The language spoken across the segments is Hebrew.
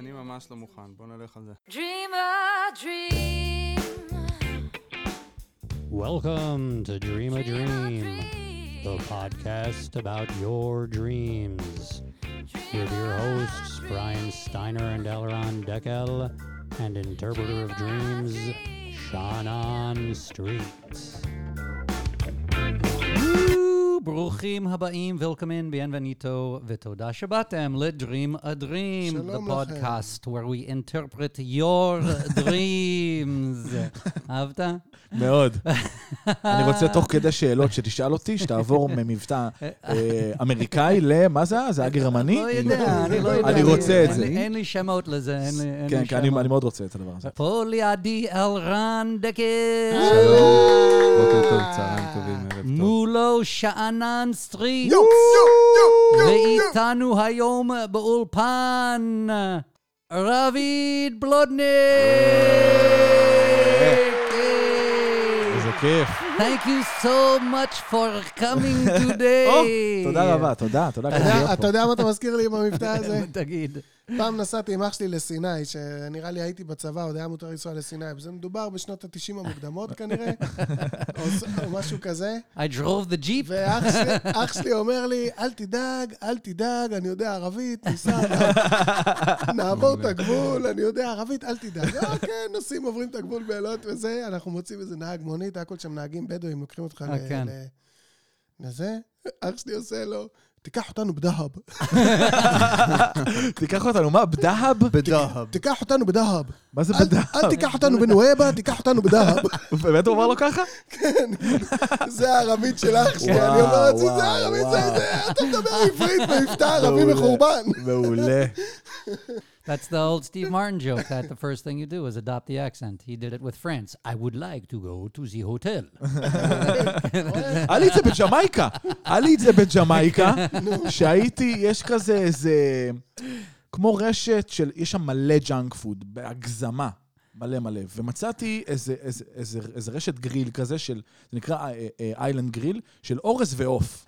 אני ממש לא מוכן, בוא נלך על זה. Dream a dream. Welcome to Dream a Dream, the podcast about your dreams. With your hosts, Brian Steiner and Elron Deckel, and interpreter of dreams, Shannon Street. ברוכים הבאים, welcome in, bienvenido, ותודה שבאתם ל-Dream a Dream, the podcast where we interpret your dreams. אהבת? מאוד. אני רוצה תוך כדי שאלות שתשאל אותי, שתעבור ממבטא אמריקאי למה זה? זה היה גרמני? לא יודע, אני לא יודע. אני רוצה את זה. אין לי שמות לזה, כן, כי אני מאוד רוצה את הדבר הזה. פה לידי אלרן דקל. שלום, בוקר טוב, צהריים טובים, ערב טוב. מולו שאנן סטריט. ואיתנו היום באולפן, רביד בלודניק. איזה כיף. Thank you so much for coming today. תודה רבה, תודה. אתה יודע מה אתה מזכיר לי עם המבטא הזה? תגיד. פעם נסעתי עם אח שלי לסיני, שנראה לי הייתי בצבא, עוד היה מותר לנסוע לסיני, וזה מדובר בשנות ה-90 המוקדמות כנראה, או משהו כזה. I drove the jeep. ואח שלי אומר לי, אל תדאג, אני יודע ערבית, ניסע, נעבור את הגבול, אני יודע ערבית, אל תדאג. אוקיי, נוסעים, עוברים את הגבול באלות וזה, אנחנו מוצאים איזה נהג מונית, הכל שם נהגים בדואים, לוקחים אותך לזה. אח שלי עושה לו, תיקח אותנו בדהב. תיקח אותנו, מה? בדהב? בדהב. תיקח אותנו בדהב. מה זה בדהב? אל תיקח אותנו בנואבה, תיקח אותנו בדהב. באמת הוא אמר לו ככה? כן. זה הערבית של אח שלי. אני אומר את זה, זה הערבית, זה, אתה מדבר עברית במבטא ערבי מחורבן. מעולה. That's the old Steve Martin joke, that the first thing you do is adopt the accent. He did it with France. I would like to go to the hotel. היה לי את זה בג'מייקה, שהייתי, יש כזה איזה, כמו רשת של, יש שם מלא ג'אנק פוד, בהגזמה, מלא, ומצאתי איזה רשת גריל כזה של, זה נקרא איילנד גריל, של אורז ועוף.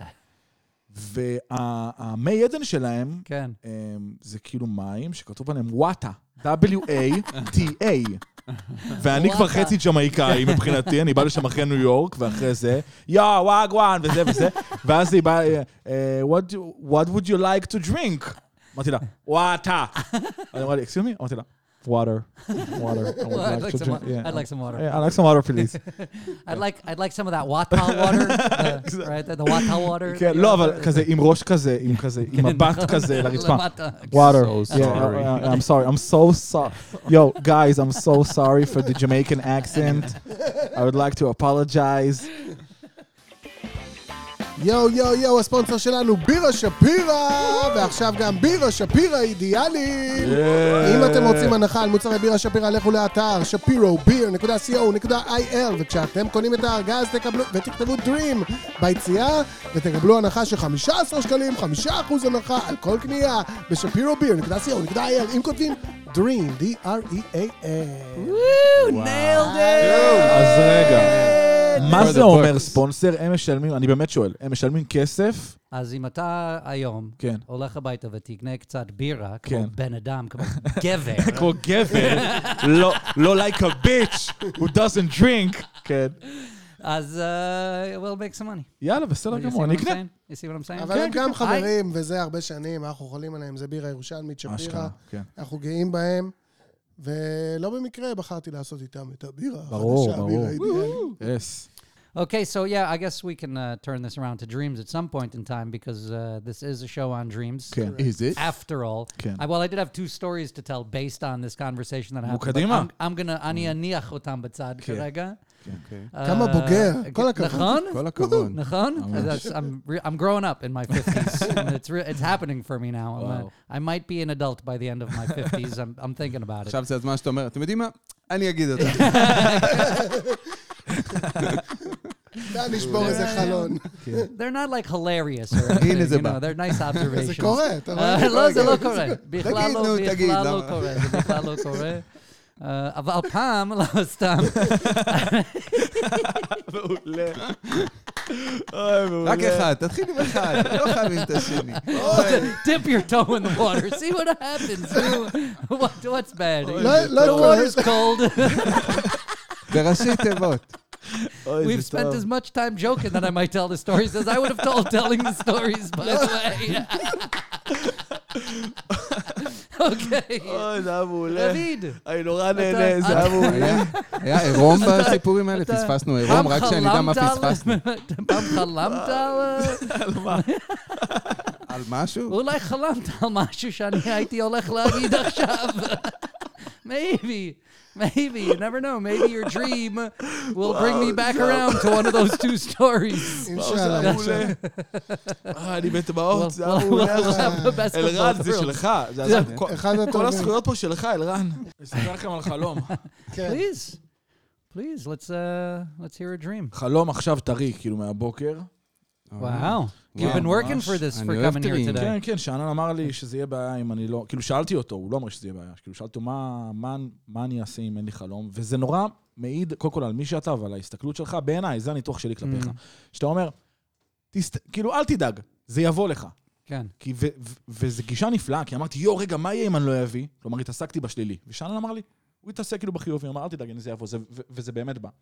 והמי עדן שלהם, כן. זה כאילו מים שכתוב עליהם וואטה, W-A-T-A. ואני כבר חצי ג'מייקאי מבחינתי, אני בא לשם אחרי ניו יורק, ואחרי זה, וואגואן, וזה, ואז היא באה, what would you like to drink? אמרתי לה, וואטה. אני אמרה לי, excuse me? אמרתי לה, water. I'd like some water. Yeah, I'd like some water, please. I'd like some of that Wata water, right? The Wata water. כן, לא, אבל כזה, עם ראש כזה, עם מבט כזה לרצפה. Water. Yeah, I'm sorry. I'm so sorry. Yo, guys, I'm so sorry for the Jamaican accent. I would like to apologize. יו, הספונסר שלנו, בירה שפירה, ועכשיו גם בירה שפירה אידיאלית. אם אתם רוצים הנחה על מוצרי בירה שפירה, לכו לאתר shapirobeer.co.il, וכשאתם קונים את הארגז ותכתבו Dream ביציאה, ותקבלו הנחה של 15 שקלים, 5% הנחה על כל קנייה בשאפירוbeer.co.il, אם כותבים Dream, D-R-E-A-M. Nailed it! אז רגע. מה זה אומר ספונסר? הם משלמים, אני באמת שואל, הם משלמים כסף? אז אם אתה היום הולך הביתה ותקנה קצת בירה, כמו בן אדם, כמו גבר. כמו גבר, לא like a bitch who doesn't drink. כן. אז we'll make some money. יאללה, בסדר גמור, אני אקנה. You see what I'm saying? אבל הם גם חברים, וזה הרבה שנים, אנחנו חולים עליהם, זה בירה ירושלמית שפירה. אנחנו גאים בהם. ולא במקרה בחרתי לעשות איתם את הבירה. ברור. Yes. Okay, so yeah, I guess we can turn this around to dreams at some point in time because this is a show on dreams. Is it? After all. Well, I did have two stories to tell based on this conversation that happened. מוקדימה. אני אניח אותם בצד כרגע. כמה בוגר. כל הכבוד. נכון? כל הכבוד. נכון? I'm growing up in my 50s. It's happening for me now. I might be an adult by the end of my 50s. I'm thinking about it. עכשיו זה הזמן שאתה אומר, אתם יודעים מה? אני אגיד אותה. נשבור איזה חלון. They're not like hilarious or anything, you know, they're nice observations. זה קורה, אתה רואה? לא, זה לא קורה. בכלל לא קורה. אבל פעם, לא סתם. מעולה. רק אחד, תתחיל עם אחד, לא חייבים את השני. Dip your toe in the water. See what happens. What's bad? לא The water's cold. בראשי תיבות. We've spent as much time joking that I might tell the stories as I would have told telling the stories, by the way. אוקיי. אוי, זה היה מעולה. דוד. אני נורא נהנה, זה היה מעולה. היה עירום בסיפורים האלה, פספסנו עירום, רק שאני יודע מה פספסנו. פעם חלמת על מה? על משהו? אולי חלמת על משהו שאני הייתי הולך להגיד עכשיו. Maybe, you never know. Maybe your dream will bring me back around to one of those two stories. אינשאללה. אני בטבעות, זה היה We'll מעולה. have the best of אלרן, both זה worlds. שלך. אחד כל הטובים. הזכויות פה שלך, אלרן. אספר לכם על חלום. כן. Please, let's hear a dream. חלום עכשיו טרי, כאילו מהבוקר. Wow. You've been working for this, for coming here today. כן, כן, שאנן אמר לי שזה יהיה בעיה אם אני לא... כאילו, שאלתי אותו, הוא לא אמר שזה יהיה בעיה. כאילו, שאלתי אותו, מה אני אעשה אם אין לי חלום? וזה נורא מעיד, קודם כל, על מי שאתה ועל ההסתכלות שלך. בעיניי, זה הניתוח שלי כלפיך. שאתה אומר, כאילו, אל תדאג, זה יבוא לך. כן. וזו גישה נפלאה, כי אמרתי, רגע, מה יהיה אם אני לא אביא? כלומר, התעסקתי בשלילי. ושאנן אמר לי, הוא התעסק כאילו בחיובי, הוא אמר, אל תדאג, זה יבוא, וזה באמת בא.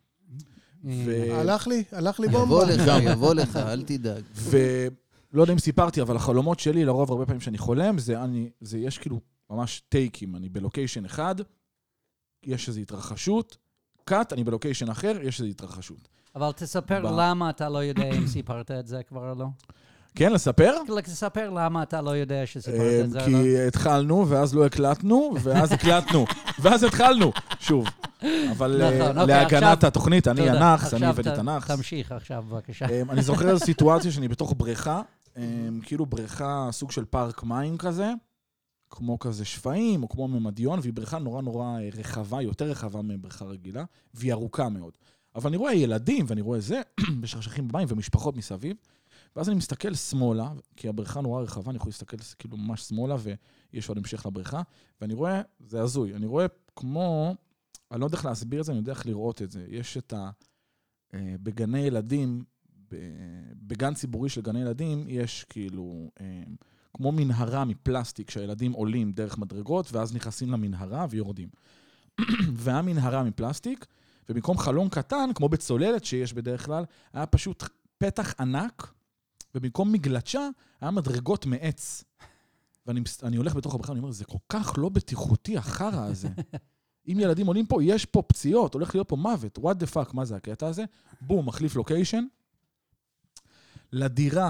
הלך לי בומבה. יבוא לך, אל תדאג. ולא יודע אם סיפרתי, אבל החלומות שלי, לרוב הרבה פעמים שאני חולם, זה יש כאילו ממש טייקים. אני בלוקיישן אחד, יש איזו התרחשות, קאט, אני בלוקיישן אחר, יש איזו התרחשות. אבל תספר למה אתה לא יודע אם סיפרת את זה כבר או לא. כן, לספר? תספר למה אתה לא יודע שסיפרת את זה או לא. כי התחלנו, ואז לא הקלטנו, ואז הקלטנו, ואז התחלנו, שוב. אבל להגנת התוכנית, אני הנאחס, אני הבאתי את הנאחס. תמשיך עכשיו, בבקשה. אני זוכר איזו סיטואציה שאני בתוך בריכה, כאילו בריכה, סוג של פארק מים כזה, כמו כזה שפעים, או כמו ממדיון, והיא בריכה נורא נורא רחבה, יותר רחבה מבריכה רגילה, והיא ארוכה מאוד. אבל אני רואה ילדים, ואני רואה זה, בשרשכים במים ומשפחות מסביב, ואז אני מסתכל שמאלה, כי הבריכה נורא רחבה, אני יכול להסתכל כאילו ממש שמאלה, ויש עוד המשך לבריכה, ואני רואה, זה הזוי, אני רואה כמו, אני לא יודע איך להסביר את זה, אני יודע איך לראות את זה. יש את בגני ילדים, בגן ציבורי של גני ילדים, יש כאילו, כמו מנהרה מפלסטיק, שהילדים עולים דרך מדרגות, ואז נכנסים למנהרה ויורדים. והמנהרה מפלסטיק, ובמקום חלון קטן, כמו בצוללת שיש בדרך כלל, היה פשוט פתח ענק, ובמקום מגלצ'ה, היה מדרגות מעץ. ואני הולך בתוך הבריכה, אני אומר, זה כל כך לא בטיחותי, החרא הזה. אם ילדים עולים פה, יש פה פציעות, הולך להיות פה מוות. What the fuck, מה זה הקטע הזה? בום, מחליף לוקיישן. לדירה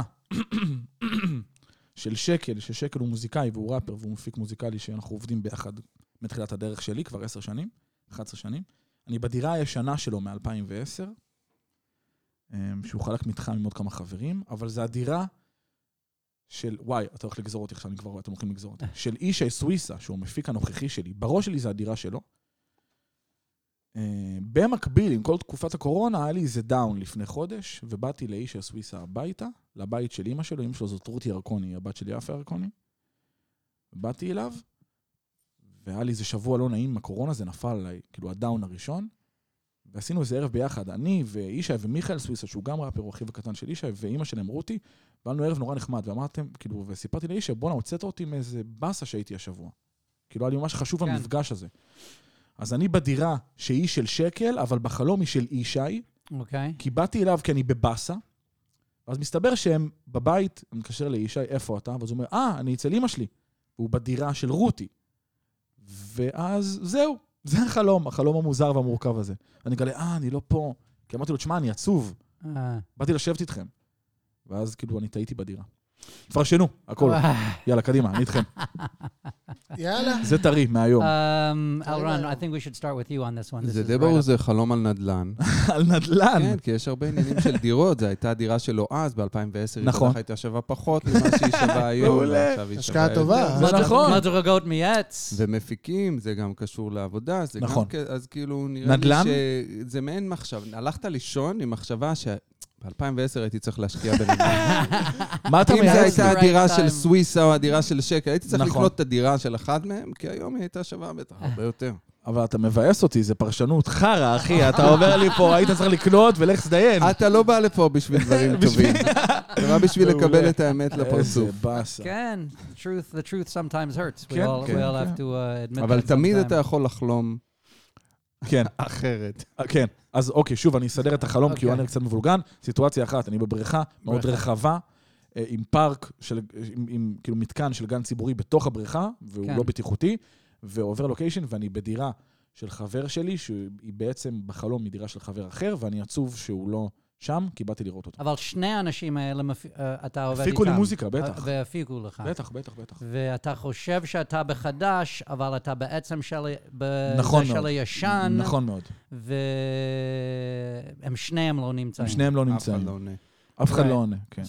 של שקל, ששקל הוא מוזיקאי והוא ראפר, והוא מפיק מוזיקלי שאנחנו עובדים ביחד מתחילת הדרך שלי, כבר 10 שנים, 11 שנים. אני בדירה הישנה שלו מ-2010, שהוא חלק מתחם עם עוד כמה חברים, אבל זה הדירה של, וואי, אתה הולך לגזור אותי עכשיו, אני כבר רואה, אתם הולכים לגזור אותי, של אישי סוויסה, שהוא מפיק הנוכחי שלי, בראש שלי זה הדירה שלו. במקביל, עם כל תקופת הקורונה, היה לי איזה דאון לפני חודש, ובאתי לאישי סוויסה הביתה, לבית של אמא שלו, אמא שלו זאת רותי ירקוני, הבת שלי יפה ירקוני. באתי אליו, והיה לי איזה שבוע לא נעים מהקורונה, זה נפל עליי, כאילו הדאון הראשון, ועשינו איזה ערב ביחד, אני ואישי ומיכאל סוויסה, שהוא גם ראפר, הוא אחיו הקטן של אישי, ואמא שלהם רותי, באנו ערב נורא נחמד, ואמרתם, כאילו, וסיפרתי לאישי, בוא'נה, הוצאת אותי מאיזה בסה שהייתי השבוע. כאילו, היה לי ממש חשוב המפגש הזה. אז אני בדירה שהיא של שקל, אבל בחלום היא של אישי, כי באתי אליו כי אני בבסה, אז מסתבר שהם בבית, אני מתקשר לאישי, איפה אתה? ואז הוא אומר, אני אצל אמא שלי, והוא בדירה של רותי. ואז זהו, זה החלום המוזר והמורכב הזה. אני אגלה, אני לא פה. כי אמרתי לו, תשמע, אני עצוב. באתי לשבת איתכם. ואז כאילו אני טעיתי בדירה. תפרשנו, הכל. יאללה, קדימה, אני איתכם. יאללה. זה טרי, מהיום. אלרן, I think we should start with you on this one. זה די ברור, זה חלום על נדל"ן. על נדל"ן. כן, כי יש הרבה עניינים של דירות. זו הייתה הדירה שלו אז, ב-2010, היא בטח הייתה שווה פחות ממה שהיא שווה היום. השקעה טובה. זה נכון. מדרגות מעץ. ומפיקים, זה גם קשור לעבודה. נכון. אז כאילו נראה לי שזה מעין מחשב. הלכת לישון עם מחשבה ב-2010 הייתי צריך להשקיע בנדל"ן. מה אתה אם זו הייתה הדירה של סוויסה או הדירה של שקל, הייתי צריך לקנות את הדירה של אחד מהם, כי היום היא הייתה שווה בטח הרבה יותר. אבל אתה מבאס אותי, זה פרשנות חרא, אחי, אתה אומר לי פה, היית צריך לקנות ולך תדיין. אתה לא בא לפה בשביל דברים טובים. זה רק בשביל לקבל את האמת לפרצוף. איזה באסה. כן, the truth sometimes hurts. We כן, all כן, have to admit that אבל תמיד sometimes. אתה יכול לחלום כן, אחרת. כן. אז אוקיי, שוב, אני אסדר את החלום, כי הוא אוקיי. היה קצת מבולגן. סיטואציה אחת, אני בבריכה מאוד רחבה, עם פארק, עם כאילו מתקן של גן ציבורי בתוך הבריכה, והוא כן. לא בטיחותי, ועובר לוקיישן, ואני בדירה של חבר שלי, שהיא בעצם בחלום מדירה של חבר אחר, ואני עצוב שהוא לא שם, כי באתי לראות אותו. אבל שני האנשים האלה, אתה עובד איתם. הפיקו לי מוזיקה, בטח. והפיקו לך. בטח. ואתה חושב שאתה בחדש, אבל אתה בעצם נכון של מאוד. הישן. נכון מאוד. והם שניהם לא נמצאים. הם שניהם לא אף אחד נמצאים. לא עונה. אף אחד לא עונה, כן.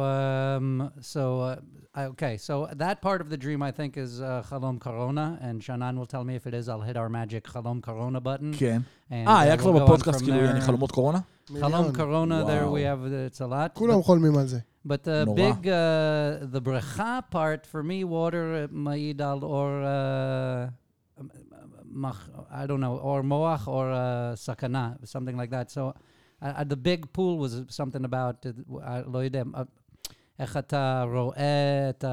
So that part of the dream, I think, is Chalom Corona, and Shannon will tell me if it is. I'll hit our magic Chalom Corona button. כן. And, היה we'll כבר go on בפודקאסט, from כאילו, there. אני חלומות קורונה? Chalom Corona, there we Wow. have, it's a lot. כולם חולמים על זה. But the נורא. big, the brecha part, for me, water מעיד על or I don't know, or moach or sakana, something like that. So the big pool was something about, לא יודע, איך אתה רואה את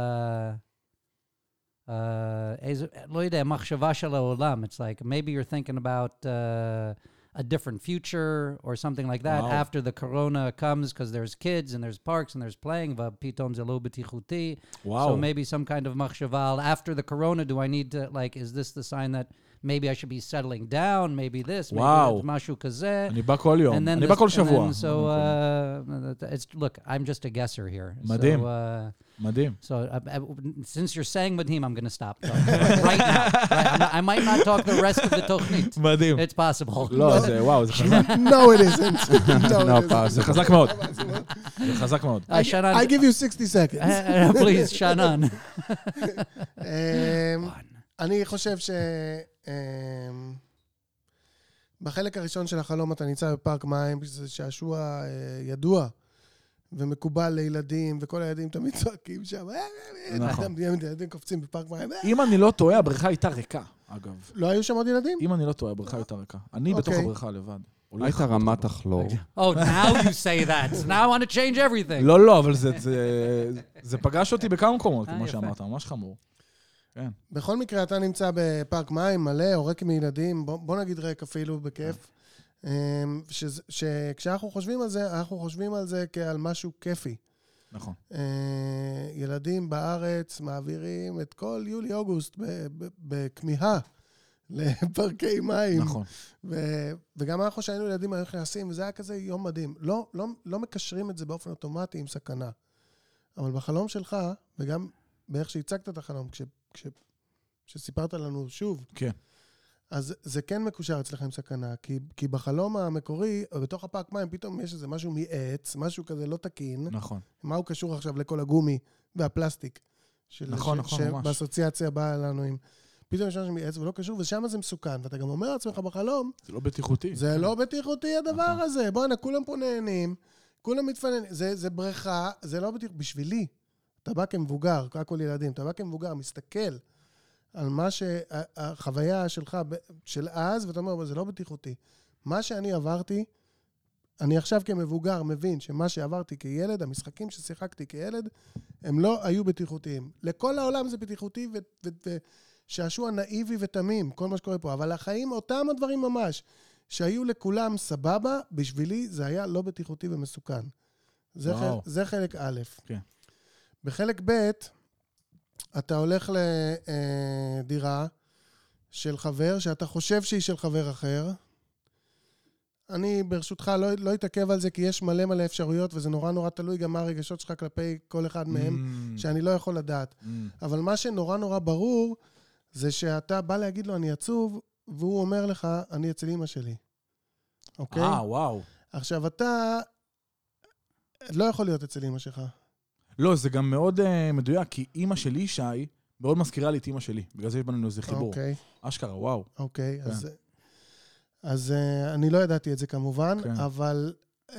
לא יודע, מחשבה של העולם. It's like, maybe you're thinking about a different future or something like that Wow. after the corona comes, because there's kids and there's parks and there's playing, ופתאום זה לא בטיחותי. וואו. So maybe some kind of מחשבה, after the corona, do I need to, like, is this the sign that maybe I should be settling down, maybe this, maybe Wow. it's משהו כזה. אני בא כל יום. And then אני בא כל שבוע. so, it's, look, I'm just a guesser here. מדהים. So, מדהים. so since you're saying מדהים, I'm going to stop talking right now. Right? I might not talk the rest of the תוכנית. מדהים. It's possible. לא, זה, וואו, זה חזק. No, it isn't. No, it isn't. זה חזק מאוד. זה חזק מאוד. Shannon, I give you 60 seconds. please, Shannon. אני חושב בחלק הראשון של החלום אתה נמצא בפארק מים, שזה שעשוע ידוע ומקובל לילדים, וכל הילדים תמיד צועקים שם. נכון. ילדים קופצים בפארק מים. אם אני לא טועה, הבריכה הייתה ריקה, אגב. לא היו שם עוד ילדים? אם אני לא טועה, הבריכה הייתה ריקה. אני בתוך אוקיי. הבריכה לבד. הייתה רמת הכלור. Oh, now you say that. So now I want to change everything. לא, אבל זה פגש אותי בכמה מקומות, כמו יפה. שאמרת, ממש חמור. כן. בכל מקרה, אתה נמצא בפארק מים מלא, או ריק מילדים, בוא נגיד ריק אפילו בכיף, שכשאנחנו חושבים על זה, אנחנו חושבים על זה כעל משהו כיפי. נכון. ילדים בארץ מעבירים את כל יולי-אוגוסט בכמיהה לפארקי מים. נכון. וגם אנחנו שהיינו ילדים היו נכנסים, וזה היה כזה יום מדהים. לא מקשרים את זה באופן אוטומטי עם סכנה. אבל בחלום שלך, וגם באיך שהצגת את החלום, כשסיפרת לנו שוב, כן. אז זה כן מקושר אצלכם סכנה, כי בחלום המקורי, בתוך הפארק מים, פתאום יש איזה משהו מעץ, משהו כזה לא תקין. נכון. מה הוא קשור עכשיו לכל הגומי והפלסטיק? נכון, ממש. שבאסוציאציה באה לנו עם... פתאום יש משהו מעץ ולא קשור, ושם זה מסוכן. ואתה גם אומר לעצמך בחלום, זה לא בטיחותי. זה לא בטיחותי הדבר הזה. בוא'נה, כולם פה נהנים, כולם מתפננים. זה בריכה, זה לא בטיחותי. בשבילי, אתה בא כמבוגר, הכל ילדים, אתה בא כמבוגר, מסתכל על מה שהחוויה שלך של אז, ואתה אומר, זה לא בטיחותי. מה שאני עברתי, אני עכשיו כמבוגר מבין שמה שעברתי כילד, המשחקים ששיחקתי כילד, הם לא היו בטיחותיים. לכל העולם זה בטיחותי ושעשוע נאיבי ותמים, כל מה שקורה פה. אבל החיים, אותם הדברים ממש, שהיו לכולם סבבה, בשבילי זה היה לא בטיחותי ומסוכן. זה חלק א'. כן. בחלק ב', אתה הולך לדירה של חבר, שאתה חושב שהיא של חבר אחר. אני ברשותך לא אתעכב על זה, כי יש מלא אפשרויות, וזה נורא תלוי גם מה הרגשות שלך כלפי כל אחד מהם, שאני לא יכול לדעת. אבל מה שנורא ברור, זה שאתה בא להגיד לו, אני עצוב, והוא אומר לך, אני אצל אמא שלי. אוקיי? וואו. עכשיו, אתה לא יכול להיות אצל אמא שלך. לא, זה גם מאוד מדויק, כי אמא שלי, שי, מאוד מזכירה לי את אמא שלי. בגלל זה יש בנו איזה חיבור. אוקיי. אשכרה, וואו. אוקיי, אז אני לא ידעתי את זה כמובן, כן. אבל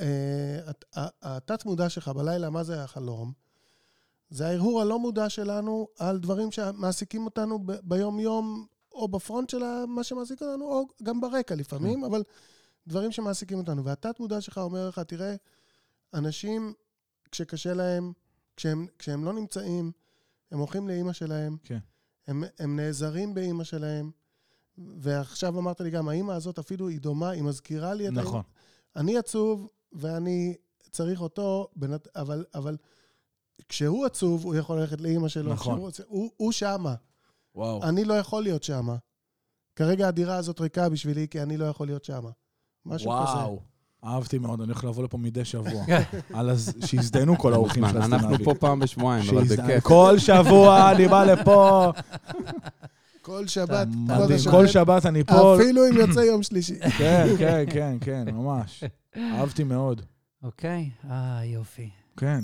התת מודע שלך בלילה, מה זה החלום? זה ההרהור הלא מודע שלנו על דברים שמעסיקים אותנו ביום יום, או בפרונט של מה שמעסיק אותנו, או גם ברקע לפעמים, אבל דברים שמעסיקים אותנו. והתת מודע שלך אומר לך, תראה, אנשים, כשקשה להם, כשהם לא נמצאים, הם הולכים לאמא שלהם, כן. הם נעזרים באמא שלהם, ועכשיו אמרת לי גם, האמא הזאת אפילו היא דומה, היא מזכירה לי את נכון. אני עצוב, ואני צריך אותו, אבל כשהוא עצוב, הוא יכול ללכת לאמא שלו. נכון. הוא שמה. וואו. אני לא יכול להיות שמה. כרגע הדירה הזאת ריקה בשבילי, כי אני לא יכול להיות שמה. משהו כזה. וואו. אהבתי מאוד, אני הולך לבוא לפה מדי שבוע. שיזדיינו כל האורחים של הסטנאבי. אנחנו פה פעם בשבועיים, אבל בכיף. כל שבוע אני בא לפה. כל שבת. כל שבת אני פה. אפילו אם יוצא יום שלישי. כן, כן, כן, כן, ממש. אהבתי מאוד. אוקיי, יופי. כן.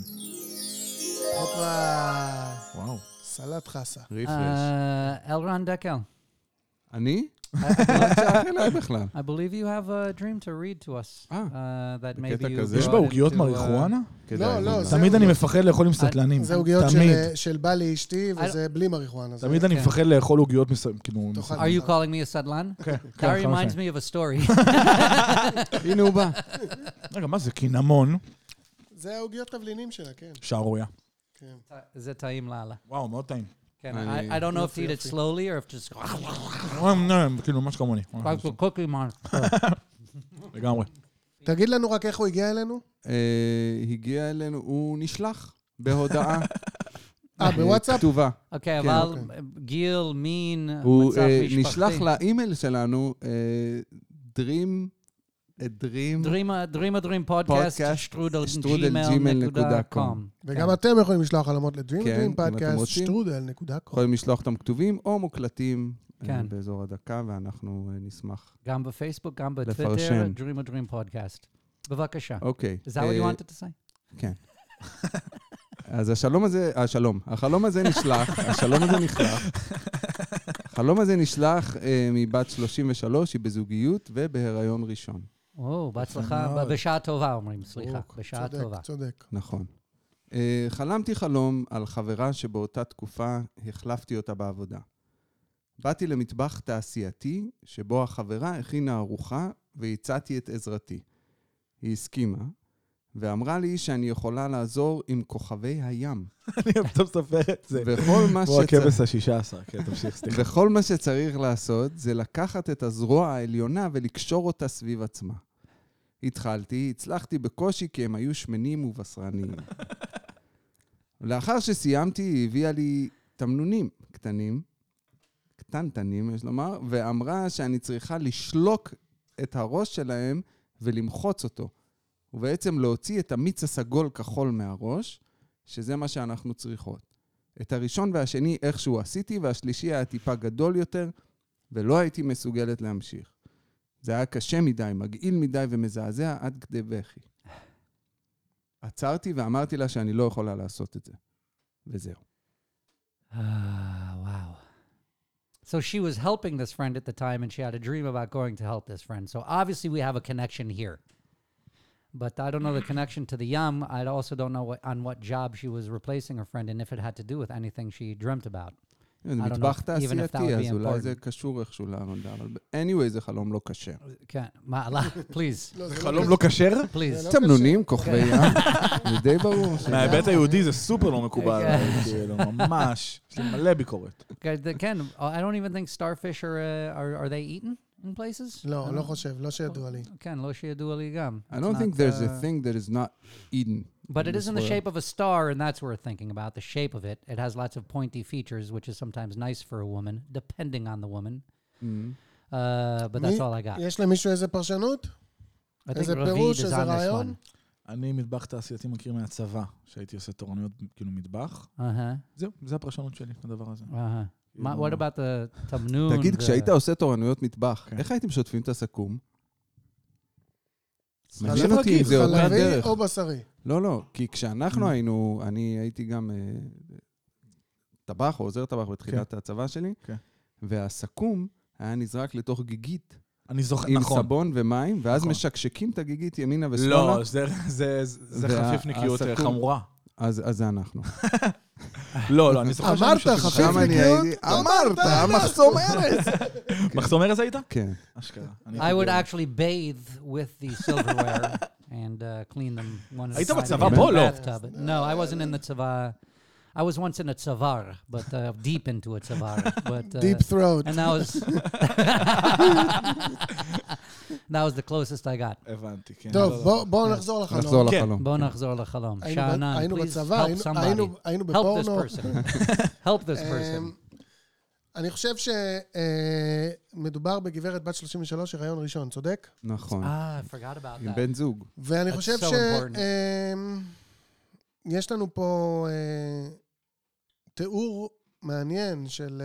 הופה. וואו. סלט חסה. ריפרש. אלרן דקל. אני? לא צעק אליי בכלל. I believe you have a dream to read to us. That maybe you כזה. יש brought בה עוגיות into, מריחואנה? לא, תמיד אני מפחד לאכול עם סטלנים. זה עוגיות תמיד. של בא לאשתי, וזה בלי מריחואנה. תמיד אני מפחד לאכול עוגיות כאילו... תאכל. Are you calling me a סדלן? כן, That reminds me of a story. הנה הוא בא. רגע, מה זה? קינמון. זה העוגיות תבלינים שלה, כן. שערויה. זה טעים לאללה. וואו, מאוד טעים. כן, I don't know if to eat it slowly or if just... כאילו, ממש כמוני. Like a cookie man. לגמרי. תגיד לנו רק איך הוא הגיע אלינו. הגיע אלינו, הוא נשלח בהודעה. בוואטסאפ? כתובה. אוקיי, אבל גיל, מין, הוא מצב משפחתי. נשלח לאימייל שלנו, Dream podcast, strudel@gmail.com. וגם אתם יכולים לשלוח חלומות לדרים, כן, דרים אם אתם פודקאסט, רוצים. strudel.com. יכולים לשלוח אותם כתובים או מוקלטים כן. באזור הדקה, ואנחנו נשמח. גם בפייסבוק, גם בטוויטר, לפרשן. Dream podcast. בבקשה. אוקיי. Is that what you wanted to say? כן. אז החלום הזה נשלח, החלום הזה נשלח מבת 33, היא בזוגיות ובהיריון ראשון. בהצלחה, בשעה טובה אומרים, סליחה, בשעה טובה. צודק. נכון. חלמתי חלום על חברה שבאותה תקופה החלפתי אותה בעבודה. באתי למטבח תעשייתי שבו החברה הכינה ארוחה והצעתי את עזרתי. היא הסכימה ואמרה לי שאני יכולה לעזור עם כוכבי הים. אני אוהב ספר את זה. וכל הכבש ה-16, כן, תמשיך, סליחה. וכל מה שצריך לעשות זה לקחת את הזרוע העליונה ולקשור אותה סביב עצמה. הצלחתי בקושי כי הם היו שמנים ובשרניים. לאחר שסיימתי, היא הביאה לי תמנונים קטנטנים, יש לומר, ואמרה שאני צריכה לשלוק את הראש שלהם ולמחוץ אותו. ובעצם להוציא את המיץ הסגול כחול מהראש, שזה מה שאנחנו צריכות. את הראשון והשני איכשהו עשיתי, והשלישי היה טיפה גדול יותר, ולא הייתי מסוגלת להמשיך. זה היה קשה מדי, מגעיל מדי ומזעזע עד כדי בכי. עצרתי ואמרתי לה שאני לא יכולה לעשות את זה. וזהו. Wow. So she was helping this friend at the time, and she had a dream about going to help this friend. So obviously we have a connection here. But I don't know the connection to the Yam. I also don't know on what job she was replacing her friend and if it had to do with anything she dreamt about. זה מטבח תעשייתי, אז אולי זה קשור איכשהו לעבודה, אבל anyway זה חלום לא קשר. כן, מה, please. זה חלום לא כשר? please. תמנונים, כוכבי ים, זה די ברור. מההיבט היהודי זה סופר לא מקובל, ממש, יש לי מלא ביקורת. כן, I don't even think starfish are they eaten in places? לא חושב, לא שידוע לי. כן, לא שידוע לי גם. I don't think there's a thing that is not eaten. But it is in the shape of a star, and that's worth thinking about, the shape of it. It has lots of pointy features, which is sometimes nice for a woman, depending on the woman. But that's all I got. יש למישהו איזה פרשנות? I think איזה Ravid פירוש, is איזה on this רעיון? one. אני מטבח תעשייתי מכיר מהצבא, שהייתי עושה תורנויות כאילו מטבח. זהו, זה הפרשנות שלי, הדבר הזה. What about the tamnoon? תגיד, כשהיית עושה תורנויות מטבח, איך הייתם שוטפים את הסכו"ם? מעניין אותי אם זה אותה דרך. חלבי או בשרי? לא, כי כשאנחנו היינו, אני הייתי גם טבח או עוזר טבח בתחילת הצבא שלי, והסכו"ם היה נזרק לתוך גיגית. אני זוכר, עם נכון. סבון ומים, ואז משקשקים את הגיגית ימינה ושמאלה. לא, זה חפיפניקיות חמורה. אז זה אנחנו. לא, אני זוכר אמרת, שאני חפיף שם אני נקיות? הייתי, אמרת, מחסום ארץ. מחסום ארז היית? כן. אשכרה. I would actually bathe with the silverware and clean them one at a time. היית בצבא in the פה? לא. bathtub. No, I wasn't in the צבא. I was once in a tsavar, but deep into a tsavar. But, Deep throat. And that was the closest I got. הבנתי, כן. טוב, בואו נחזור לחלום. נחזור כן. לחלום. בואו נחזור לחלום. שאנן, היינו please בצבא, help somebody. היינו Help בפורנו. this person. Help this person. אני חושב שמדובר בגברת בת 33, הריון ראשון, צודק? נכון. I forgot about עם that. בן זוג. ואני That's חושב so important. יש לנו פה תיאור מעניין של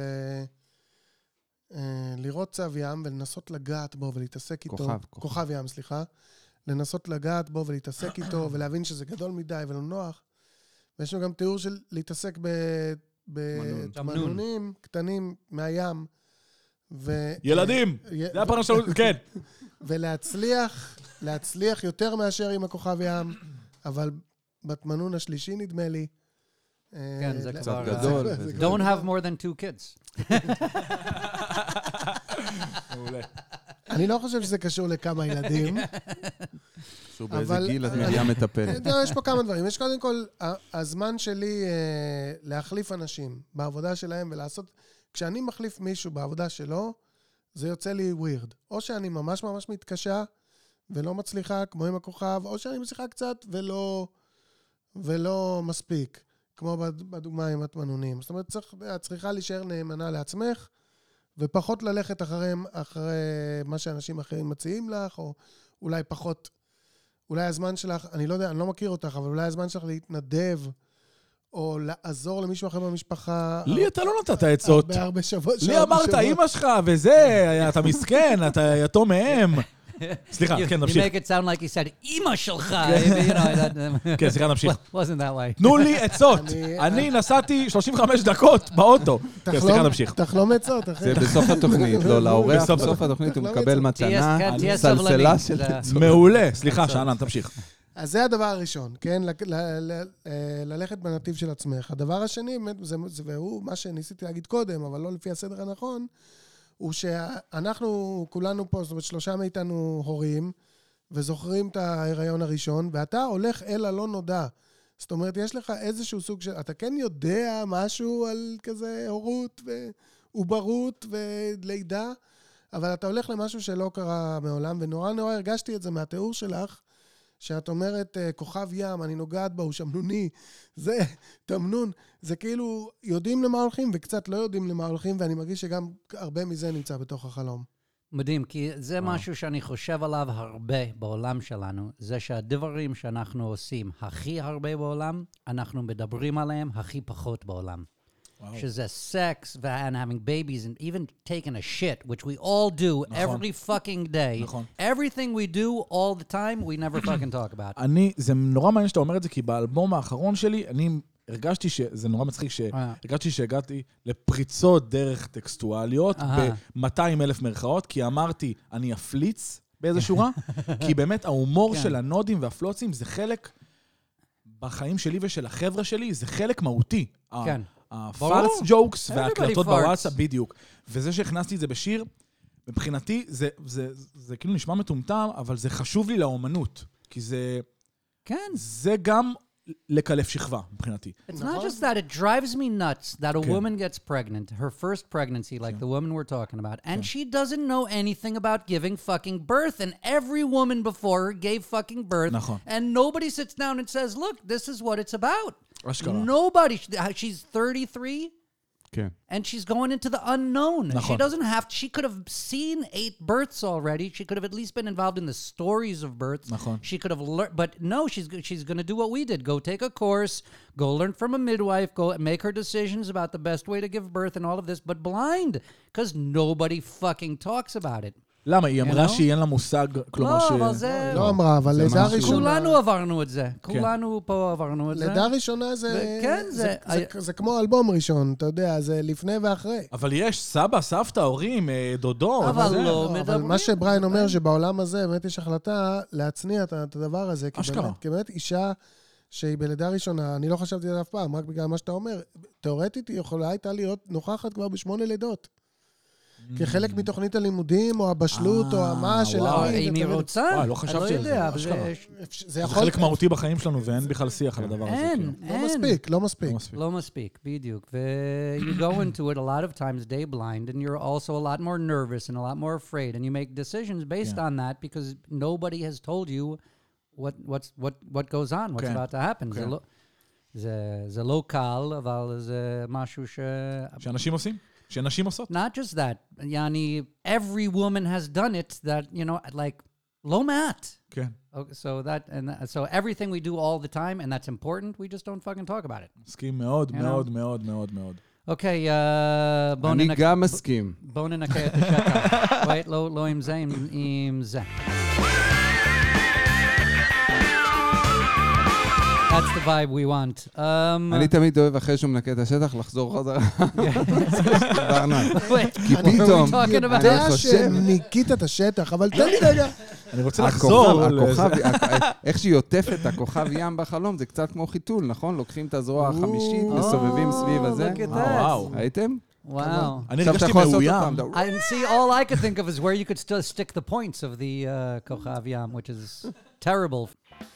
לראות צב ים ולנסות לגעת בו ולהתעסק איתו. כוכב ים, סליחה. לנסות לגעת בו ולהתעסק איתו ולהבין שזה גדול מדי ולא נוח. ויש לנו גם תיאור של להתעסק בתמנונים קטנים מהים. ילדים! זה הפרנה שלנו, כן. ולהצליח יותר מאשר עם הכוכב ים, אבל בתמנון השלישי נדמה לי. כן, זה קצת כבר... גדול. Don't have more than 2 kids. מעולה. אני לא חושב שזה קשור לכמה ילדים. שהוא באיזה גיל את מגיעה מטפלת. יש פה כמה דברים. יש קודם כל, הזמן שלי להחליף אנשים בעבודה שלהם ולעשות... כשאני מחליף מישהו בעבודה שלו, זה יוצא לי ווירד. או שאני ממש ממש מתקשה ולא מצליחה, כמו עם הכוכב, או שאני מצליחה קצת ולא מספיק, כמו בדוגמה עם התמנונים. זאת אומרת, צריכה להישאר נאמנה לעצמך, ופחות ללכת אחרי מה שאנשים אחרים מציעים לך, או אולי פחות, אולי הזמן שלך, אני לא יודע, אני לא מכיר אותך, אבל אולי הזמן שלך להתנדב, או לעזור למישהו אחר במשפחה. לי אתה לא נתת עצות. הרבה שבוע. לי אמרת, אמא שלך, וזה, אתה מסכן, אתה יתום מהם. סליחה, כן, נמשיך. You make it sound like he said, אמא שלך. כן, סליחה, נמשיך. Wasn't that way. תנו לי עצות. אני נסעתי 35 דקות באוטו. כן, סליחה, נמשיך. תחלום עצות, אחי. זה בסוף התוכנית. לא, לאורח בסוף התוכנית הוא מקבל מתנה, תהיה סלסלה של סבלני. עצות. מעולה. סליחה, שאנן, תמשיך. אז זה הדבר הראשון, כן? ללכת בנתיב של עצמך. הדבר השני, והוא מה שניסיתי להגיד קודם, אבל לא לפי הסדר הנכון, הוא שאנחנו כולנו פה, זאת אומרת, 3 מאיתנו הורים, וזוכרים את ההיריון הראשון, ואתה הולך אל הלא נודע. זאת אומרת, יש לך איזשהו סוג של... אתה כן יודע משהו על כזה הורות ועוברות ולידה, אבל אתה הולך למשהו שלא קרה מעולם, ונורא נורא הרגשתי את זה מהתיאור שלך, שאת אומרת, כוכב ים, אני נוגעת בה, הוא שמנוני, זה תמנון, זה כאילו יודעים למה הולכים וקצת לא יודעים למה הולכים, ואני מרגיש שגם הרבה מזה נמצא בתוך החלום. מדהים, כי זה משהו שאני חושב עליו הרבה בעולם שלנו, זה שהדברים שאנחנו עושים הכי הרבה בעולם, אנחנו מדברים עליהם הכי פחות בעולם. שזה sex and having babies and even taking a shit, which we all do every fucking day. Everything we do all the time, we never fucking talk about. זה נורא מעניין שאתה אומר את זה, כי באלבום האחרון שלי, אני הרגשתי שזה נורא מצחיק, הרגשתי שהגעתי לפריצות דרך טקסטואליות, ב-200,000 מרכאות, כי אמרתי, אני אפליץ באיזו שורה, כי באמת ההומור של הנודים והפלוצים זה חלק בחיים שלי ושל החבר'ה שלי, זה חלק מהותי. כן. הפלס ג'וקס והקלטות בוואטסאפ, בדיוק. וזה שהכנסתי את זה בשיר, מבחינתי, זה כאילו נשמע מטומטם, אבל זה חשוב לי לאומנות. כי זה גם לקלף שכבה, מבחינתי. It's not just that, it drives me nuts that a woman gets pregnant, her first pregnancy, like the woman we're talking about, and she doesn't know anything about giving fucking birth, and every woman before her gave fucking birth, and nobody sits down and says, look, this is what it's about. Nobody, she's 33, and she's going into the unknown. She doesn't have, she could have seen 8 births already. She could have at least been involved in the stories of births. She could have learned, but no, she's going to do what we did. Go take a course, go learn from a midwife, go make her decisions about the best way to give birth and all of this, but blind, because nobody fucking talks about it. למה? היא אמרה שהיא אין לה מושג, כלומר ש... לא, אבל זה... לא אמרה, אבל לידה ראשונה... כולנו עברנו את זה. כולנו פה עברנו את זה. לידה ראשונה זה... כן, זה כמו אלבום ראשון, אתה יודע, זה לפני ואחרי. אבל יש סבא, סבתא, הורים, דודו. אבל לא מדברים. אבל מה שבריין אומר, שבעולם הזה באמת יש החלטה להצניע את הדבר הזה. כי באמת אישה שהיא בלידה ראשונה, אני לא חשבתי על אף פעם, רק בגלל מה שאתה אומר. תיאורטית היא יכולה הייתה להיות נוכחת כבר ב8 לידות. כחלק מתוכנית הלימודים, או הבשלות, או המה של אם היא רוצה, וואי, לא חשבתי על זה. יודע, זה זה יכול... חלק מהותי בחיים שלנו, ואין בכלל שיח על הדבר הזה. אין, לא מספיק. לא מספיק, בדיוק. You go into it a lot of times day blind, and you're also a lot more nervous and a lot more afraid, and you make decisions based on that because nobody has told you what goes on, what's about to happen. זה לא קל, אבל זה משהו שאנשים עושים? שנשים עושות? Not just that. Yani, every woman has done it that, you know, like, לא מעט. כן. Okay, so everything we do all the time, and that's important, we just don't fucking talk about it. מסכים מאוד, מאוד, מאוד, מאוד, מאוד. אוקיי, אני גם מסכים. בואו ננקה את השטח. wait, לא עם זה, עם זה. That's the vibe we want. אני תמיד אוהב אחרי שהוא מנקה את השטח, לחזור חזרה. כי What פתאום, are we talking about? אני יודע חושב... שניקית את השטח, אבל תן לי רגע. אני רוצה לחזור. איך שהיא עוטפת הכוכב ים בחלום, זה קצת כמו חיתול, נכון? לוקחים את הזרוע החמישית, מסובבים סביב הזה. Look at that. וואו. ראיתם? Wow. אני עכשיו אתה הרגשתי יכול לעשות מאוים. אותם. I see. All I could think of is where you could still stick the points of the Kochav Yam, which is terrible.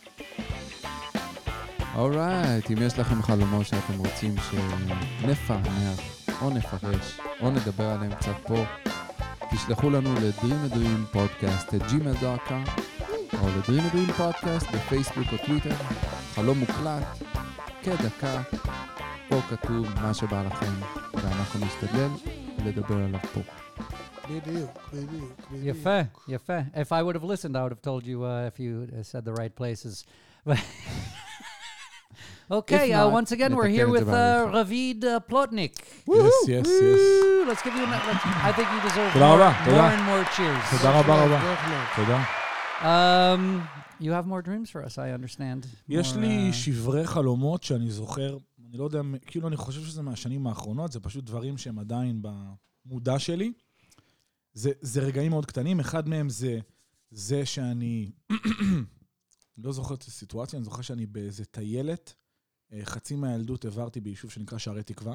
אורייט, אם יש לכם חלומות שאתם רוצים שנפענח או נפרש או נדבר עליהם קצת פה, תשלחו לנו ל-dreamadreampodcast@gmail.com או ל-dreamadreampodcast בפייסבוק או טוויטר, חלום מוקלט, כדקה, פה כתוב מה שבא לכם, ואנחנו נשתדל לדבר עליו פה. בדיוק. יפה. If I would have listened, I would have told you if you said the right places. Okay, If not, once again, we're here נתקן את with זה בעריכה. Ravid Plotnik. Yes. Let's give you I think you deserve תודה רבה, more תודה. and more cheers. תודה רבה. תודה. You have more dreams for us, I understand. יש More, לי שברי חלומות שאני זוכר, אני לא יודע, כאילו אני חושב שזה מהשנים האחרונות, זה פשוט דברים שהם עדיין במודע שלי. זה רגעים מאוד קטנים, אחד מהם זה שאני, לא זוכר את הסיטואציה, אני זוכר שאני באיזה טיילת, חצי מהילדות עברתי ביישוב שנקרא שערי תקווה.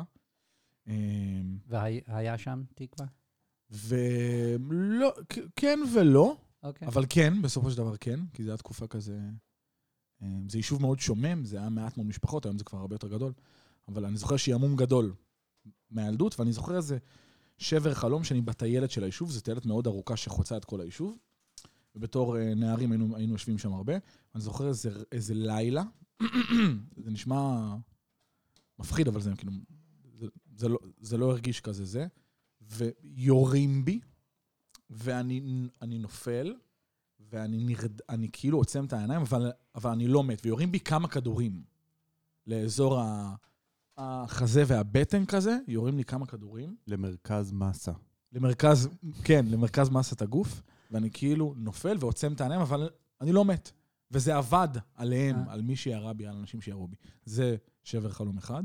והיה שם תקווה? ולא, כן ולא, אוקיי. אבל כן, בסופו של דבר כן, כי זו הייתה תקופה כזה, זה יישוב מאוד שומם, זה היה מעט מאוד משפחות, היום זה כבר הרבה יותר גדול, אבל אני זוכר שימום גדול מהילדות, ואני זוכר איזה שבר חלום שאני בטיילת של היישוב, זו טיילת מאוד ארוכה שחוצה את כל היישוב, ובתור נערים היינו יושבים שם הרבה, ואני זוכר איזה לילה, זה נשמע מפחיד, אבל זה כאילו, זה לא הרגיש כזה זה, ויורים בי, ואני נופל, ואני כאילו עוצם את העיניים, אבל אני לא מת, ויורים בי כמה כדורים לאזור החזה והבטן כזה, יורים לי כמה כדורים. למרכז מסה. למרכז מסת הגוף, ואני כאילו נופל ועוצם את העיניים, אבל אני לא מת. וזה עבד עליהם, על מי שירה בי, על אנשים שירו בי. זה שבר חלום אחד.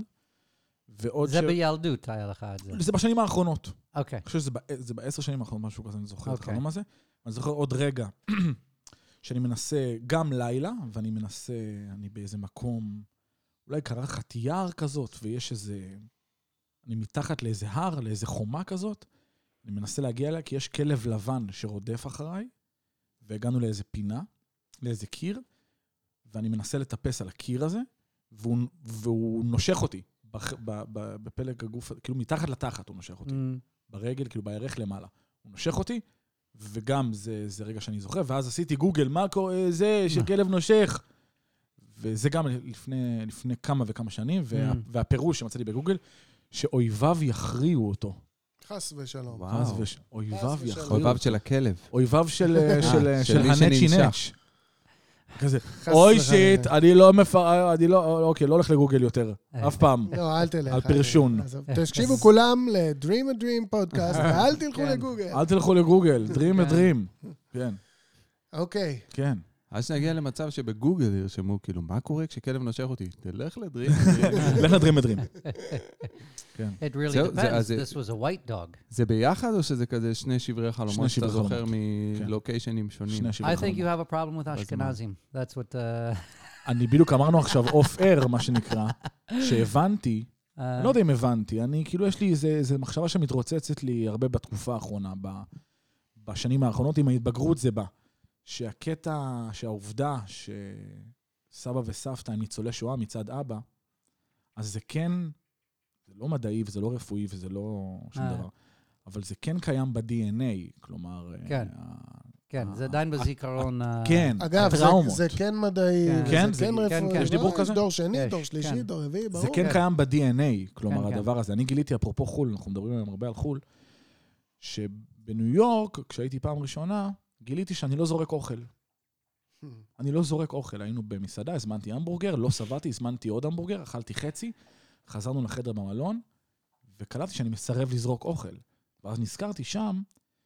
זה בילדות היה לך את זה. זה בשנים האחרונות. אוקיי. אני חושב שזה ב10 שנים האחרונות, משהו כזה, אני זוכר את החלום הזה. אני זוכר עוד רגע, שאני מנסה גם לילה, ואני מנסה, אני באיזה מקום, אולי קרחת יער כזאת, ויש איזה, אני מתחת לאיזה הר, לאיזה חומה כזאת, אני מנסה להגיע אליה, כי יש כלב לבן שרודף אחריי, והגענו לאיזה פינה, לאיזה קיר, ואני מנסה לטפס על הקיר הזה, והוא נושך אותי, בפלג הגוף, כאילו מתחת לתחת הוא נושך אותי, ברגל, כאילו בערך למעלה. הוא נושך אותי, וגם זה רגע שאני זוכר, ואז עשיתי גוגל, מה קורה זה שכלב נושך? וזה גם לפני כמה וכמה שנים, והפירוש שמצאתי בגוגל, שאויביו יכריעו אותו. חס ושלום. אויביו של הכלב. אויביו של הנצ'י נץ'. כזה, אוי שיט, אני לא הולך לגוגל יותר, אף פעם. לא, אל תלך. על פרשון. תקשיבו כולם ל-Dream a Dream פודקאסט, ואל תלכו לגוגל. אל תלכו לגוגל, Dream a Dream. כן. אוקיי. כן. אז שנגיע למצב שבגוגל ירשמו, כאילו, מה קורה כשכלב נושך אותי? תלך לדרים. לך לדרים מדרים. It really depends. This was a white dog. זה ביחד או שזה כזה שני שברי חלומות שאתה זוכר מלוקיישנים שונים? I think you have a problem with Ashkenazim. That's what... אני בדיוק אמרנו עכשיו אוף אר, מה שנקרא, שהבנתי, לא יודע אם הבנתי, אני כאילו יש לי איזו מחשבה שמתרוצצת לי הרבה בתקופה האחרונה, בשנים האחרונות, עם ההתבגרות זה בא. שהקטע, שהעובדה שסבא וסבתא הם ניצולי שואה מצד אבא, אז זה כן, זה לא מדעי וזה לא רפואי וזה לא שום דבר, אבל זה כן קיים ב-DNA, כלומר... כן. כן, זה עדיין בזיכרון... כן, אגב, הטראומות. זה כן מדעי, כן, זה כן רפואי. יש דיבור כזה? דור שני, דור שלישי, דור רביעי, ברור. זה כן קיים ב-DNA, כלומר, כן. הדבר הזה. אני גיליתי, אפרופו חול, אנחנו מדברים היום הרבה על חול, שבניו יורק, כשהייתי פעם ראשונה, גיליתי שאני לא זורק אוכל. אני לא זורק אוכל. היינו במסעדה, הזמנתי המבורגר, לא סבתי, הזמנתי עוד המבורגר, אכלתי חצי, חזרנו לחדר במלון, וקלטתי שאני מסרב לזרוק אוכל. ואז נזכרתי שם,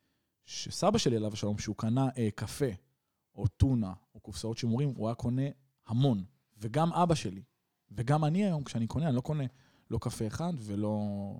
שסבא שלי עליו השלום, שהוא קנה קפה, או טונה, או קופסאות שימורים, הוא היה קונה המון. וגם אבא שלי. וגם אני היום, כשאני קונה, אני לא קונה לא קפה אחד, ולא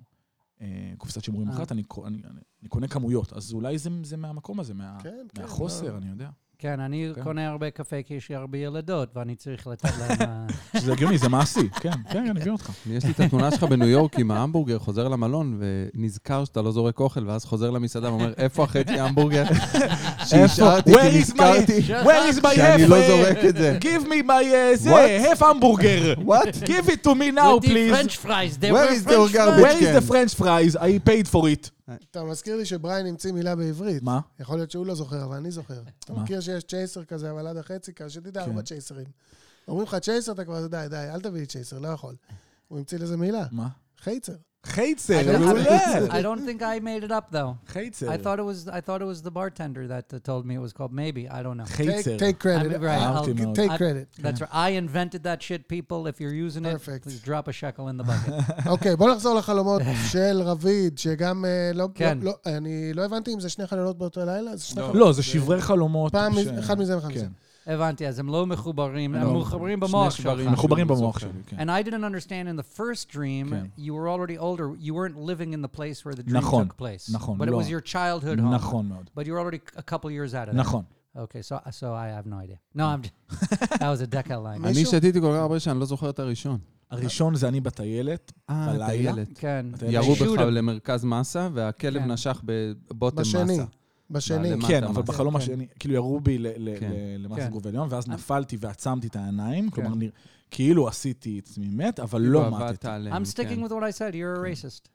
קופסת שימורים אחת, אני קונה כמויות. אז אולי זה מהמקום הזה, מהחוסר, אני יודע. כן, אני קונה הרבה קפה כי יש לי הרבה ילדות, ואני צריך לתת להם... שזה הגיוני, זה מעשי. כן, אני מבין אותך. יש לי את התמונה שלך בניו יורק עם ההמבורגר, חוזר למלון, ונזכר שאתה לא זורק אוכל, ואז חוזר למסעדה ואומר, איפה החצי ההמבורגר? שהשארתי, כי נזכרתי שאני לא זורק את זה. Give me my, half hamburger. What? Give it to me now, With the please. French fries. They Where were is the French garbage? fries. Where is the French fries? I paid for it. אתה מזכיר לי שבריין המציא מילה בעברית. מה? יכול להיות שהוא לא זוכר, אבל אני זוכר. אתה מה? מכיר שיש צ'ייסר כזה, אבל עד החצי, שתדע, כן. 4 צ'ייסרים. אומרים לך צ'ייסר, אתה כבר, די, אל תביא לי צ'ייסר, לא יכול. הוא המציא לזה מילה. מה? חייצר. חייצר, מעולה. I don't think I made it up though. חייצר. I thought it was the bartender that told me it was called. Maybe, I don't know. חייצר. Take credit. I'm right. אהבתי מאוד. Take credit. That's right. I invented that shit, people. If you're using it, Perfect. please drop a shekel in the bucket. אוקיי, בוא נחזור לחלומות של רביד, שגם כן. אני לא הבנתי אם זה 2 חלומות באותו לילה, זה 2 חלומות. לא, זה שברי חלומות. פעם אחד מזה ואחד מזה. הבנתי, אז הם לא מחוברים, הם מחוברים במוח שלך. מחוברים במוח שלי, כן. And I didn't understand in the first dream, כן. you were already older, you weren't living in the place where the dream נכון, took place. נכון, But it לא. was your childhood home. נכון מאוד. But you were already a couple years out of that. נכון. Okay, so I have no idea. No, I'm just, that was a decal line. אני שתיתי כל כך הרבה שאני לא זוכר את הראשון. הראשון זה אני בטיילת, בלילה. טיילת. כן. ירו shoot בך him. למרכז מסה, והכלב כן. נשך בבוטם בשני. מסה. בשני. למטה כן, אבל מסה. בחלום כן. השני, כאילו ירו בי כן. למעשה כן. גוף עליון, ואז נפלתי ועצמתי את העיניים, כן. כלומר, כאילו עשיתי את עצמי מת, אבל לא מתתי. I'm sticking with what I said. You're a racist.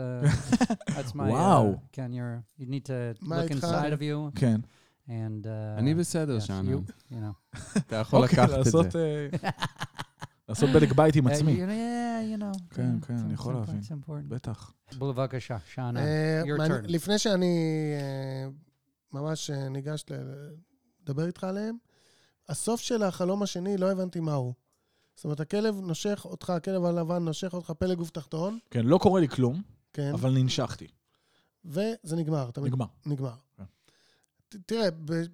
That's my... Wow. Ken, you need to מה look איתך? inside of you כן. and... אני בסדר yes, שאנן. you know. אתה יכול אוקיי, לקחת את זה. לעשות בדק בית עם עצמי. Yeah, you know. כן, כן, אני יכול להבין. It's important. בטח. בבקשה, שאנן. Your turn. לפני שאני ממש ניגש לדבר איתך עליהם, הסוף של החלום השני לא הבנתי מהו. זאת אומרת, הכלב נושך אותך, הכלב הלבן נושך אותך פלג גוף תחתון, כן, לא קורה לי כלום, כן, אבל ננשכתי. וזה נגמר. נגמר. נגמר. כן. תראה,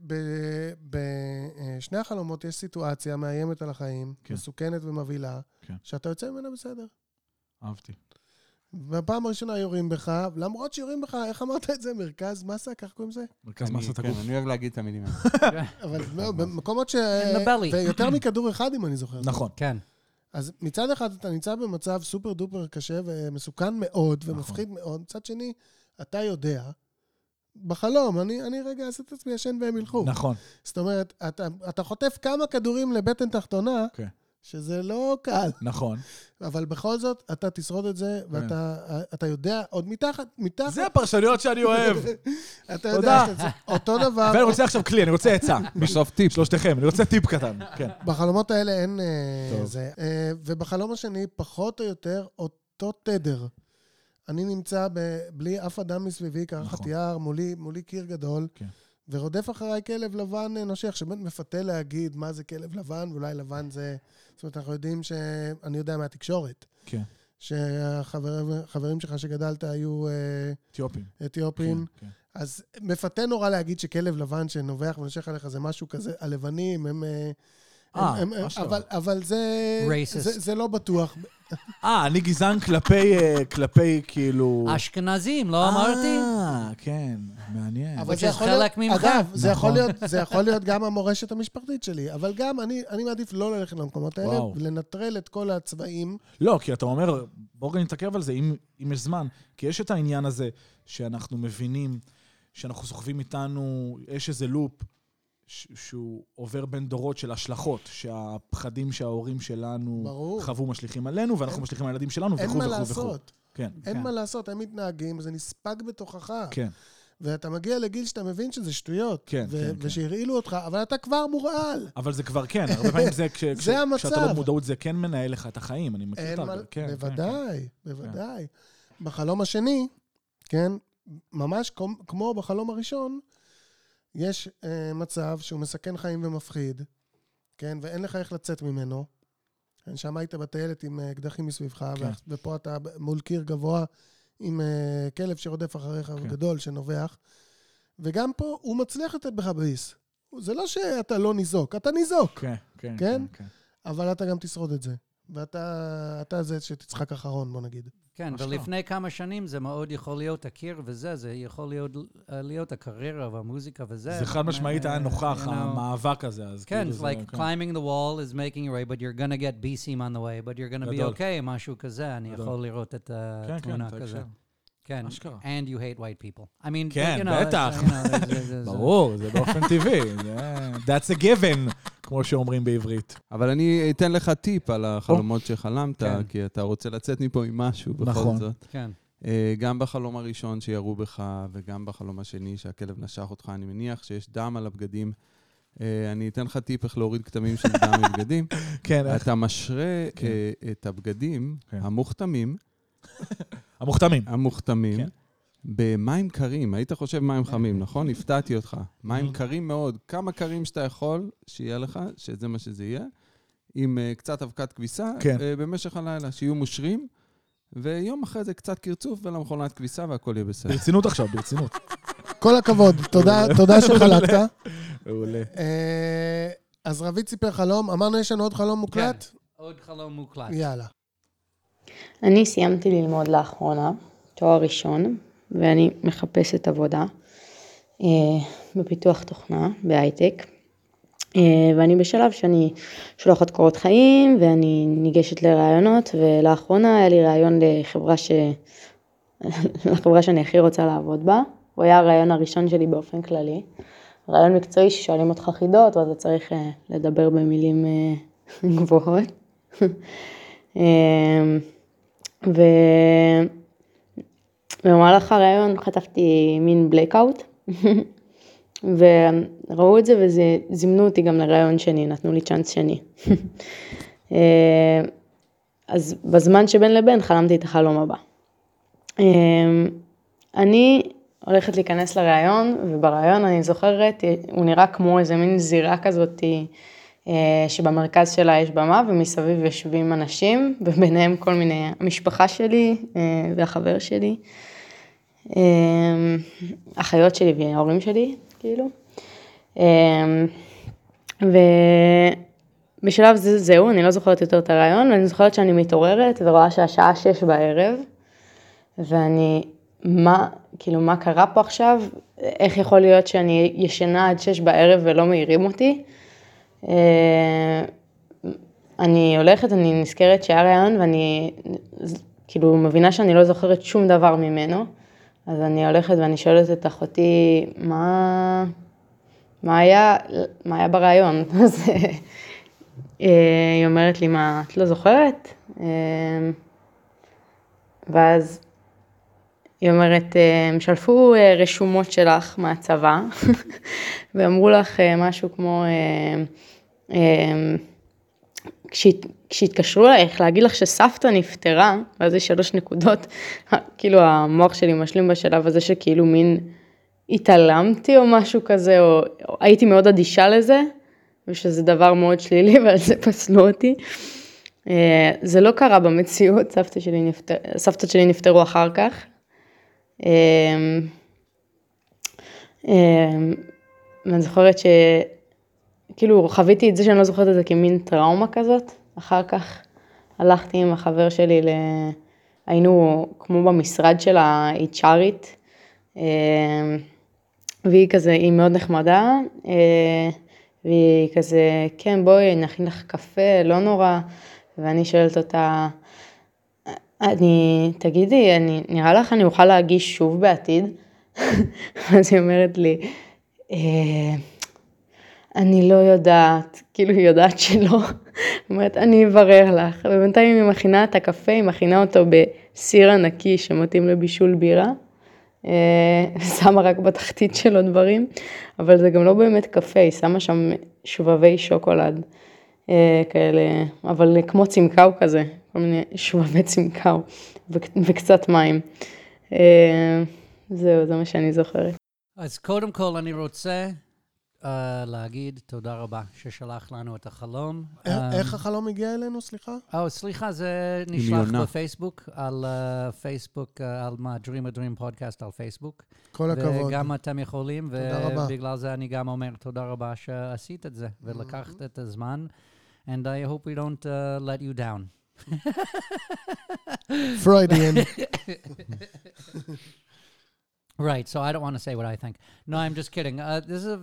בשני החלומות יש סיטואציה מאיימת על החיים, כן. מסוכנת ומבהילה, כן. שאתה יוצא ממנה בסדר. אהבתי. בפעם הראשונה יורים בך, למרות שיורים בך, איך אמרת את זה? מרכז מסה? כך קוראים זה? מרכז מסת הגוף. אני אוהב להגיד את המילים האלה. אבל במקומות In the belly. ויותר מכדור אחד, אם אני זוכר. נכון. כן. אז מצד אחד אתה נמצא במצב סופר דופר קשה ומסוכן מאוד נכון. ומפחיד מאוד. מצד שני, אתה יודע, בחלום, אני רגע אעשה את עצמי ישן והם ילכו. נכון. זאת אומרת, אתה חוטף כמה כדורים לבטן תחתונה, כן. שזה לא קל. נכון. אבל בכל זאת, אתה תשרוד את זה, ואתה יודע, עוד מתחת, זה הפרשנויות שאני אוהב. אתה יודע, אותו דבר, ואני רוצה עכשיו כלי, אני רוצה עצה. בסוף טיפ. שלושתכם, אני רוצה טיפ קטן. כן. בחלומות האלה אין טוב. זה. ובחלום השני, פחות או יותר, אותו תדר. אני נמצא בלי אף אדם מסביבי, קרחת נכון. יער, מולי קיר גדול, כן. ורודף אחריי כלב לבן נושך, שבאמת מפתה להגיד מה זה כלב לבן, ואולי לבן זה... זאת אומרת, אנחנו יודעים אני יודע מהתקשורת, כן. שהחברים שלך שגדלת היו אתיופים. אתיופים, כן, כן. אז מפתה נורא להגיד שכלב לבן שנובח ונושך עליך זה משהו כזה, הלבנים הם... אבל זה לא בטוח. אני גזען כלפי כאילו... אשכנזים, לא אמרתי? כן, מעניין. אבל Which זה is יכול להיות, חלק ממך. אגב, זה יכול להיות גם המורשת המשפחתית שלי, אבל גם אני מעדיף לא ללכת למקומות האלה, וואו. ולנטרל את כל הצבעים. לא, כי אתה אומר, בואו גם נתעכב על זה, אם יש זמן. כי יש את העניין הזה שאנחנו מבינים, שאנחנו סוחבים איתנו, יש איזה לופ שהוא עובר בין דורות של השלכות, שהפחדים שההורים שלנו ברור. חוו משליכים עלינו, ואנחנו משליכים על הילדים שלנו, אין וכו' מה וכו' וכו'. לעשות. כן, אין מה לעשות, הם מתנהגים, זה נספג בתוכך. כן. ואתה מגיע לגיל שאתה מבין שזה שטויות. כן, כן. ושהרעילו אותך, אבל אתה כבר מורעל. אבל זה כבר כן, הרבה פעמים זה, זה המצב. כשאתה לא במודעות, זה כן מנהל לך את החיים, אני מכיר את אין זה. מה, כן, בוודאי, בוודאי. בחלום השני, כן, ממש כמו בחלום הראשון, יש מצב שהוא מסכן חיים ומפחיד, כן, ואין לך איך לצאת ממנו. שם היית בטיילת עם אקדחים מסביבך, כן. ופה אתה מול קיר גבוה עם כלב שרודף אחריך כן. גדול שנובח, וגם פה הוא מצליח לתת בך ביס. זה לא שאתה לא ניזוק, אתה ניזוק, כן, כן, כן? כן. אבל אתה גם תשרוד את זה. ואתה זה שתצחק אחרון, בוא נגיד. כן, אשכרה. ולפני כמה שנים זה מאוד יכול להיות הקיר וזה, זה יכול להיות הקריירה והמוזיקה וזה. זה חד משמעית היה נוכח, you know. המאבק הזה, אז כן, כאילו it's זה... like climbing the wall is making you right, but you're gonna get B-seam on the way, but you're gonna be גדול. okay, משהו כזה, אני גדול. יכול לראות את כן, התמונה כן, כזה. תקשר. כן, אשכרה. and you hate white people. I mean, כן, you know, בטח. you know, זה- ברור, זה באופן טבעי. That's a given, כמו שאומרים בעברית. אבל אני אתן לך טיפ על החלומות שחלמת, כן. כי אתה רוצה לצאת מפה עם משהו בכל נכון. זאת. כן. גם בחלום הראשון שירו בך, וגם בחלום השני שהכלב נשך אותך, אני מניח שיש דם על הבגדים. אני אתן לך טיפ איך להוריד כתמים של דם מבגדים. כן, איך? אתה משרה כן. את הבגדים כן. המוכתמים, המוכתמים. כן. במים קרים. היית חושב מים חמים, נכון? הפתעתי אותך. מים קרים מאוד. כמה קרים שאתה יכול שיהיה לך, שזה מה שזה יהיה, עם קצת אבקת כביסה, כן. במשך הלילה, שיהיו מושרים, ויום אחרי זה קצת קרצוף ולמכונת כביסה והכל יהיה בסדר. ברצינות עכשיו, ברצינות. כל הכבוד, תודה שחלקת. מעולה. אז רבית סיפר חלום, אמרנו יש לנו עוד חלום מוקלט? עוד חלום מוקלט. יאללה. אני סיימתי ללמוד לאחרונה, תואר ראשון, ואני מחפשת עבודה בפיתוח תוכנה, בהייטק. ואני בשלב שאני שולחת קורות חיים, ואני ניגשת לרעיונות, ולאחרונה היה לי רעיון לחברה שאני הכי רוצה לעבוד בה. הוא היה הרעיון הראשון שלי באופן כללי. רעיון מקצועי ששואלים אותך חידות, ואתה צריך לדבר במילים גבוהות. ובמהלך הרעיון חטפתי מין בלקאוט, וראו את זה וזימנו אותי גם לרעיון שני, נתנו לי צ'אנס שני. אז בזמן שבין לבין חלמתי את החלום הבא. אני הולכת להיכנס לרעיון, וברעיון אני זוכרת, הוא נראה כמו איזה מין זירה כזאת, שבמרכז שלה יש במה, ומסביב יושבים אנשים, וביניהם כל מיני, המשפחה שלי והחבר שלי, אחיות שלי וההורים שלי, כאילו. ובשלב זהו, אני לא זוכרת יותר את הרעיון, ואני זוכרת שאני מתעוררת ורואה שהשעה 6 בערב, ואני, מה קרה פה עכשיו? איך יכול להיות שאני ישנה עד 6 בערב ולא מעירים אותי? אני הולכת, אני נזכרת שהיה רעיון, ואני כאילו מבינה שאני לא זוכרת שום דבר ממנו, אז אני הולכת ואני שואלת את אחותי, מה היה ברעיון? אז היא אומרת לי, מה, את לא זוכרת? ואז היא אומרת, הם שלפו רשומות שלך מהצבא, ואמרו לך משהו כמו, כשהתקשרו אלייך להגיד לך שסבתא נפטרה, ואז יש 3 נקודות, כאילו המוח שלי משלים בשלב הזה שכאילו מין התעלמתי או משהו כזה, או הייתי מאוד אדישה לזה, ושזה דבר מאוד שלילי, ועל זה פסלו אותי. זה לא קרה במציאות, סבתות שלי נפטרו אחר כך. ואני זוכרת שכאילו חוויתי את זה שאני לא זוכרת את זה כמין טראומה כזאת. אחר כך הלכתי עם החבר שלי, היינו כמו במשרד של ה-HRית, והיא כזה, היא מאוד נחמדה, והיא כזה, כן, בואי, נכין לך קפה, לא נורא, ואני שואלת אותה, תגידי, נראה לך אני אוכל להגיש שוב בעתיד? אז היא אומרת לי, אני לא יודעת, כאילו היא יודעת שלא. היא אומרת, אני אברר לך. ובינתיים היא מכינה את הקפה, היא מכינה אותו בסיר ענקי שמתאים לבישול בירה. שמה רק בתחתית שלו דברים, אבל זה גם לא באמת קפה, היא שמה שם שבבי שוקולד כאלה, אבל כמו צמקאו כזה, כל מיני שבבי צמקאו וקצת מים. זהו, זה מה שאני זוכרת. אז קודם כל אני רוצה להגיד תודה רבה ששלח לנו את החלום. איך החלום הגיע אלינו, סליחה? סליחה, זה נשלח בפייסבוק, על פייסבוק, על מה, Dream a Dream פודקאסט על פייסבוק. כל הכבוד. וגם אתם יכולים, תודה רבה. ובגלל זה אני גם אומר תודה רבה שעשית את זה, ולקחת את הזמן, and I hope we don't let you down. Freudian. Right, so I don't want to say what I think. No, I'm just kidding. This is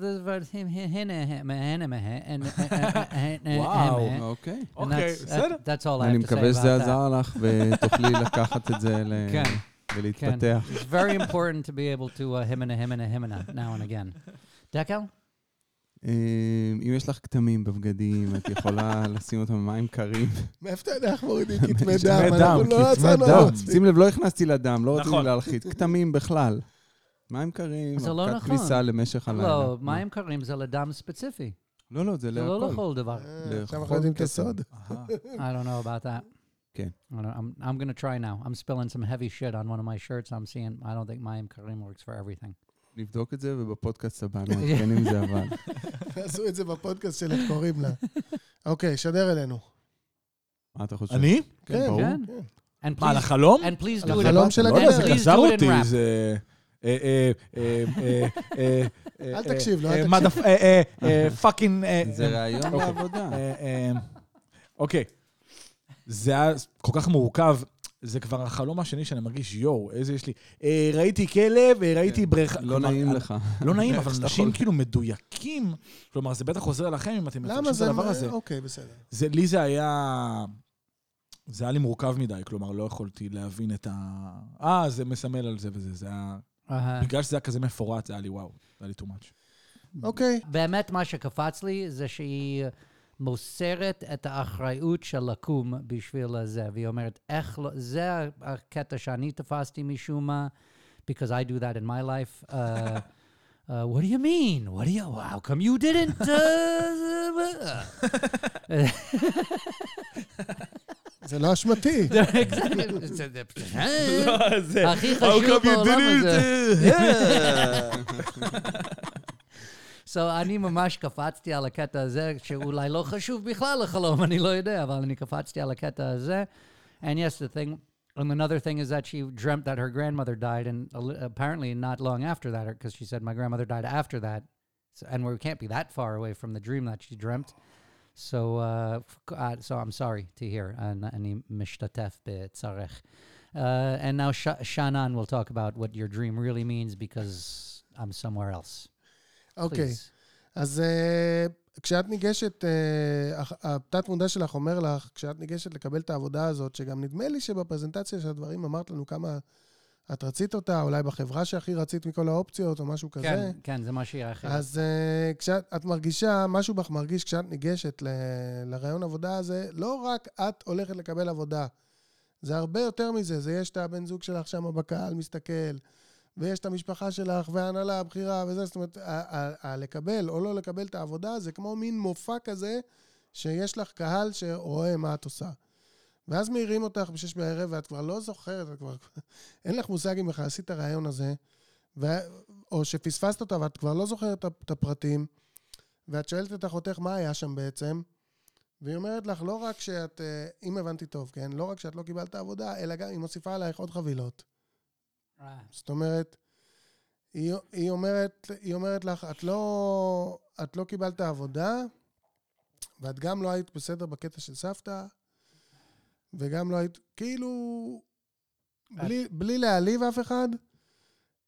וואו. אוקיי. אוקיי, בסדר. That's all I אני have to say מקווה שזה about that. עזר לך, ותוכלי לקחת את זה כן. ולהתפתח. It's very important to be able to himina now and again. דקל? אם יש לך כתמים בבגדים, את יכולה לשים אותם במים קרים. מאיפה אתה יודע איך מורידים כתמי כתמי דם? דם, אנחנו לא כתמי עצרנו דם. על עצמי. שים לב, לא הכנסתי לדם, לא רציתי נכון. להלחיץ. כתמים בכלל. מים קרים, זה לא אבקת נכון. כביסה למשך הלילה. לא, מים קרים זה לדם ספציפי. לא, זה זה לא להכל. לכל דבר. עכשיו אנחנו יודעים את הסוד. I don't know about that. כן. I'm going to try now. I'm spilling some heavy shit on one of my shirts. I'm seeing, I don't think מים קרים works for everything. נבדוק את זה, ובפודקאסט הבא נעדכן אם זה עבד. עשו את זה בפודקאסט של איך קוראים לה. אוקיי, שדר אלינו. מה אתה חושב? אני? כן, ברור. כן. כן. And מה, על please, החלום? and please על do it. החלום של לא יודע, זה Please גזר do it in אותי, rap. זה... אל תקשיב לו, אל תקשיב. פאקינג... זה רעיון לעבודה. אוקיי. זה היה כל כך מורכב. זה כבר החלום השני שאני מרגיש, יואו, איזה יש לי. ראיתי כלב, ראיתי בריכה. לא נעים לך. לא נעים, אבל אנשים כאילו מדויקים. כלומר, זה בטח עוזר לכם אם אתם למה מפרשים את זה... הדבר הזה. אוקיי, בסדר. לי זה היה... זה היה לי מורכב מדי, כלומר, לא יכולתי להבין את ה... זה מסמל על זה וזה. זה היה... בגלל שזה היה כזה מפורט, זה היה לי וואו. זה היה לי too much. אוקיי. באמת מה שקפץ לי זה שהיא מוסרת את האחריות של לקום בשביל זה, והיא אומרת, איך לא, זה הקטע שאני תפסתי משום מה, because I do that in my life. What do you mean? How come you didn't? זה לא אשמתי. הכי חשוב בעולם הזה. So, אני ממש קפצתי על הקטע הזה, שאולי לא חשוב בכלל לחלום, אני לא יודע, אבל אני קפצתי על הקטע הזה. And yes, the thing, and another thing is that she dreamt that her grandmother died, and apparently not long after that, because she said my grandmother died after that, and we can't be that far away from the dream that she dreamt. So I'm sorry to hear, and אני משתתף בצערך. And now Shannon will talk about what your dream really means, because I'm somewhere else. אוקיי. אז כשאת ניגשת, התת מודע שלך אומר לך, כשאת ניגשת לקבל את העבודה הזאת, שגם נדמה לי שבפרזנטציה של הדברים אמרת לנו כמה את רצית אותה, אולי בחברה שהכי רצית מכל האופציות או משהו כזה. כן, כן, זה מה שהיא אחרת. אז כשאת מרגישה, משהו בך מרגיש כשאת ניגשת לרעיון עבודה הזה, לא רק את הולכת לקבל עבודה, זה הרבה יותר מזה, זה יש את הבן זוג שלך שם בקהל מסתכל, ויש את המשפחה שלך, וההנהלה, הבחירה, וזה, זאת אומרת, לקבל או לא לקבל את העבודה, זה כמו מין מופע כזה, שיש לך קהל שרואה מה את עושה. ואז מעירים אותך ב6 בערב, ואת כבר לא זוכרת, אין לך מושג אם לך עשית הרעיון הזה, או שפספסת אותה, ואת כבר לא זוכרת את הפרטים, ואת שואלת את אחותך מה היה שם בעצם, והיא אומרת לך, לא רק שאת, אם הבנתי טוב, כן? לא רק שאת לא קיבלת העבודה, אלא גם היא מוסיפה עלייך עוד חבילות. זאת אומרת, היא אומרת לך, את לא קיבלת עבודה, ואת גם לא היית בסדר בקטע של סבתא, וגם לא היית, כאילו, בלי להעליב אף אחד,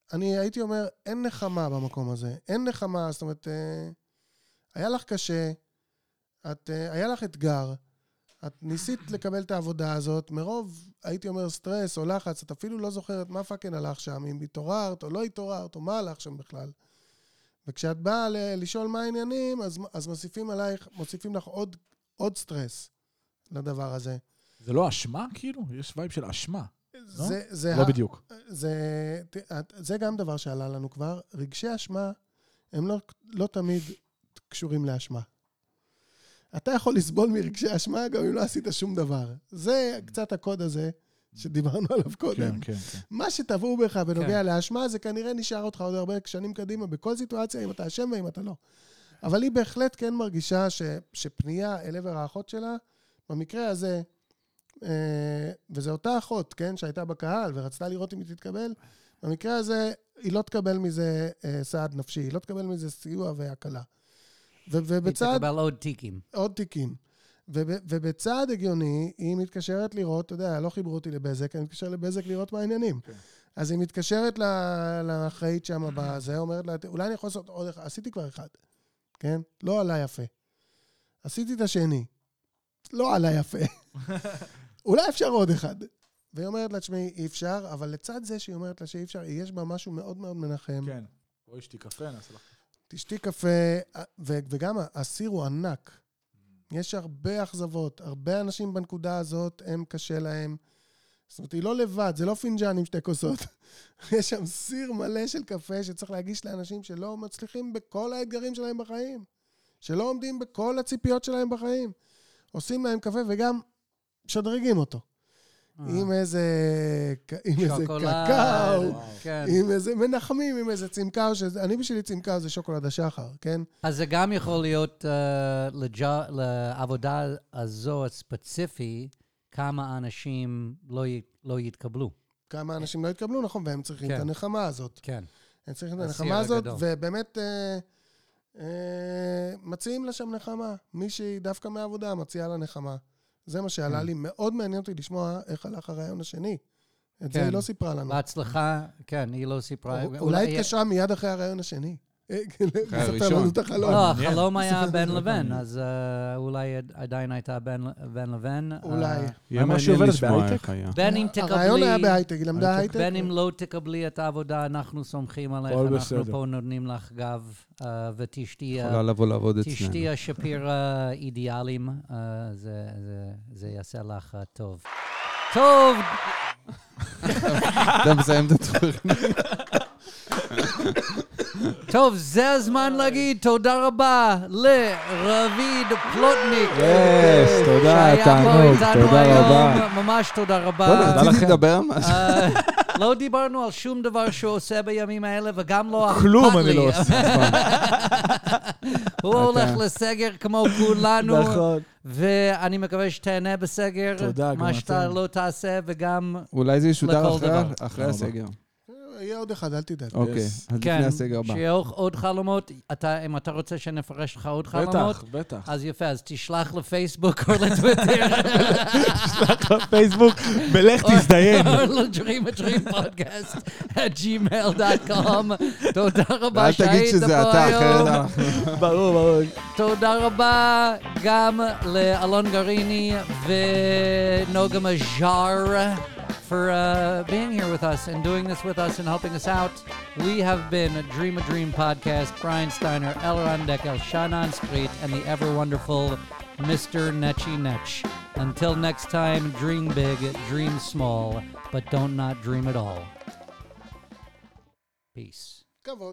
אני הייתי אומר, אין נחמה במקום הזה. אין נחמה, זאת אומרת, היה לך קשה, היה לך אתגר, את ניסית לקבל את העבודה הזאת, מרוב, הייתי אומר, סטרס או לחץ, את אפילו לא זוכרת מה פאקן הלך שם, אם התעוררת או לא התעוררת, או מה הלך שם בכלל. וכשאת באה לשאול מה העניינים, אז מוסיפים לך עוד סטרס לדבר הזה. זה לא אשמה, כאילו? יש וייב של אשמה. לא בדיוק. זה גם דבר שעלה לנו כבר. רגשי אשמה הם לא תמיד קשורים לאשמה. אתה יכול לסבול מרגשי אשמה גם אם לא עשית שום דבר. זה קצת הקוד הזה שדיברנו עליו קודם. כן. מה שטבעו בך בנוגע לאשמה, זה כנראה נשאר אותך עוד הרבה שנים קדימה, בכל סיטואציה, אם אתה אשם ואם אתה לא. אבל היא בהחלט כן מרגישה שפנייה אל עבר האחות שלה, במקרה הזה, וזה אותה אחות, כן, שהייתה בקהל ורצתה לראות אם היא תתקבל, במקרה הזה היא לא תקבל מזה סעד נפשי, היא לא תקבל מזה סיוע והקלה. היא תקבל עוד תיקים. עוד תיקים. ובצעד הגיוני, היא מתקשרת לראות, אתה יודע, לא חיברו אותי לבזק, אני מתקשר לבזק לראות מה העניינים. אז היא מתקשרת לאחראית שם בזה, אומרת לה, אולי אני יכול לעשות עוד אחד, עשיתי כבר אחד, כן? לא עלה יפה. עשיתי את השני. לא עלה יפה. אולי אפשר עוד אחד. והיא אומרת לה, תשמעי, אי אפשר, אבל לצד זה שהיא אומרת לה שאי אפשר, יש בה משהו מאוד מאוד מנחם. כן. בואי שתי קפה, נעשה לך. תשתי קפה, וגם הסיר הוא ענק. יש הרבה אכזבות, הרבה אנשים בנקודה הזאת, הם קשה להם. זאת אומרת, היא לא לבד, זה לא פינג'ן עם שתי כוסות. יש שם סיר מלא של קפה שצריך להגיש לאנשים שלא מצליחים בכל האתגרים שלהם בחיים. שלא עומדים בכל הציפיות שלהם בחיים. עושים להם קפה וגם שדרגים אותו. עם איזה קקאו, עם איזה מנחמים, עם איזה צמקאו, אני בשבילי צמקאו זה שוקולד השחר, כן? אז זה גם יכול להיות לעבודה הזו הספציפי, כמה אנשים לא יתקבלו. כמה אנשים לא יתקבלו, נכון, והם צריכים את הנחמה הזאת. כן. הם צריכים את הנחמה הזאת, ובאמת מציעים לה שם נחמה. מישהי דווקא מהעבודה מציעה לה נחמה. זה מה שעלה לי. מאוד מעניין אותי לשמוע איך הלך הרעיון השני. את זה היא לא סיפרה לנו. בהצלחה, כן, היא לא סיפרה. אולי התקשרה מיד אחרי הרעיון השני. אחרי הראשון. לא, החלום היה בן לבן, אז אולי עדיין הייתה בן לבן. אולי. מה שעובדת בהייטק? בין אם הרעיון היה תקבלי, בהייטק, היא למדה הייטק. בין אם לא תקבלי את העבודה, אנחנו סומכים עליך, אנחנו פה נותנים לך גב, ותשתי יכולה לבוא לעבוד אצלנו. תשתי השפיר אידיאלים, זה יעשה לך טוב. טוב! אתה מסיים את התוכנית. טוב, זה הזמן להגיד תודה רבה לרביד פלוטניק. תודה, תענוג, תודה רבה. ממש תודה רבה. רציתי לדבר משהו. לא דיברנו על שום דבר שהוא עושה בימים האלה, וגם לא אכפת לי. כלום אני לא עושה. הוא הולך לסגר כמו כולנו. נכון. ואני מקווה שתהנה בסגר. תודה, גם מה שאתה אתם. לא תעשה, וגם... אולי זה ישודר לכל דבר. אחרי הסגר. יהיה עוד אחד, אל תדאג. אוקיי, אז לפני כן, הסגר הבא. שיהיה עוד חלומות. אם אתה רוצה שנפרש לך עוד חלומות, בטח. אז יפה, אז תשלח לפייסבוק או לטוויטר. תשלח לפייסבוק, ולך תזדיין. או ל-dreamadreampodcast@gmail.com. תודה רבה ואל תגיד שהיית שזה פה אתה, אחרת היום. אנחנו... ברור. תודה רבה גם לאלון גריני ונוגה מז'אר for being here with us and doing this with us and helping us out. We have been Dream a Dream Podcast, Brian Steiner, Elron Deckel, Shannon Street, and the ever-wonderful Mr. Netchy Netch. Until next time, dream big, dream small, but don't not dream at all. Peace. כבוד.